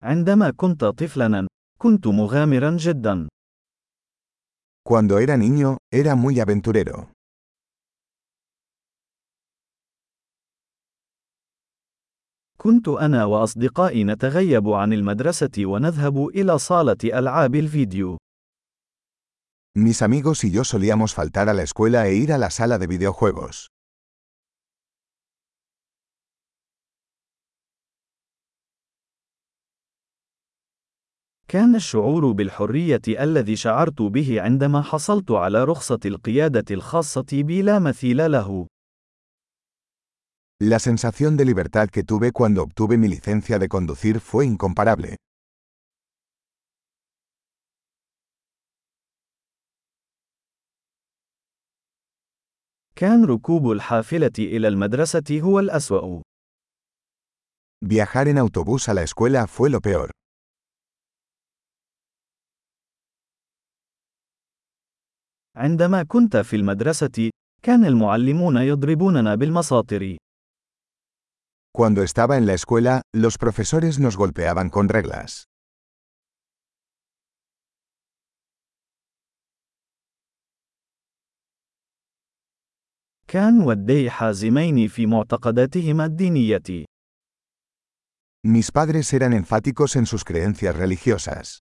عندما كنت طفلاً، كنت مغامراً جداً. Cuando era niño, era muy aventurero. كنت أنا وأصدقائي نتغيب عن المدرسة ونذهب إلى صالة ألعاب الفيديو. Mis amigos y yo solíamos faltar a la escuela e ir a la sala de videojuegos. كان الشعور بالحرية الذي شعرت به عندما حصلت على رخصة القيادة الخاصة بي لا مثيل له. La sensación de libertad que tuve cuando obtuve mi licencia de conducir fue incomparable. كان ركوب الحافلة إلى المدرسة هو الأسوأ. Viajar en autobús a la escuela fue lo peor. عندما كنت في المدرسة، كان المعلمون يضربوننا بالمساطر. Cuando estaba en la escuela, los profesores nos golpeaban con reglas. كان والدي حازمين في معتقداتهما الدينية. Mis padres eran enfáticos en sus creencias religiosas.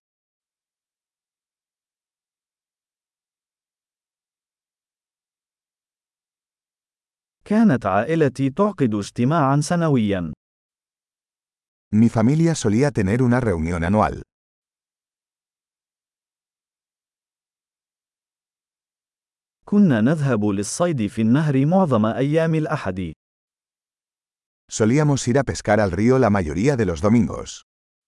كانت عائلتي تعقد اجتماعا سنويا. Mi familia solía tener una reunión anual. كنا نذهب للصيد في النهر معظم أيام الأحد. Solíamos ir a pescar al río la mayoría de los domingos.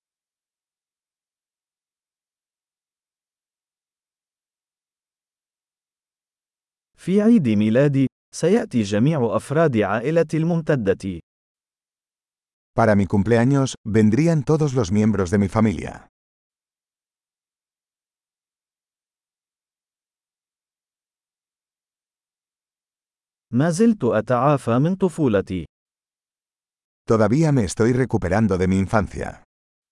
في عيد ميلادي، سيأتي جميع أفراد عائلتي الممتدة. Para mi cumpleaños, vendrían todos los miembros de mi familia. ما زلت أتعافى من طفولتي. Todavía me estoy recuperando de mi infancia.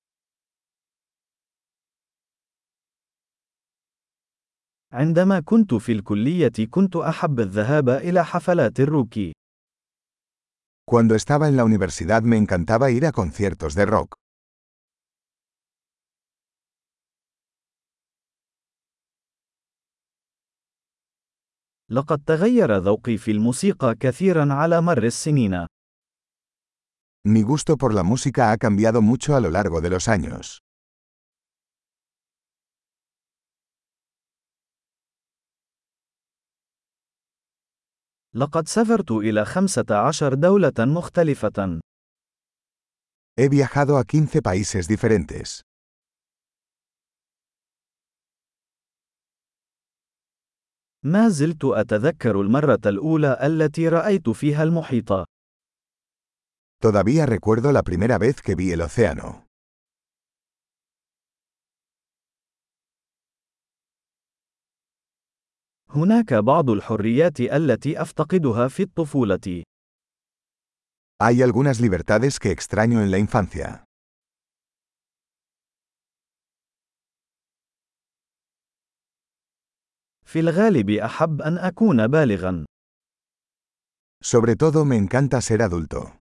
عندما كنت في الكلية كنت أحب الذهاب إلى حفلات الروك. Cuando estaba en la universidad me encantaba ir a conciertos de rock. لقد تغير ذوقي في الموسيقى كثيرا على مر السنين. Mi gusto por la música ha cambiado mucho a lo largo de los años. لقد سافرت إلى 15 دولة مختلفة. He viajado a 15 países diferentes. ما زلت أتذكر المرة الأولى التي رأيت فيها المحيط. Todavía recuerdo la primera vez que vi el océano. هناك بعض الحريات التي أفتقدها في الطفولة. Hay algunas libertades que extraño en la infancia. في الغالب أحب أن أكون بالغا. Sobre todo me encanta ser adulto.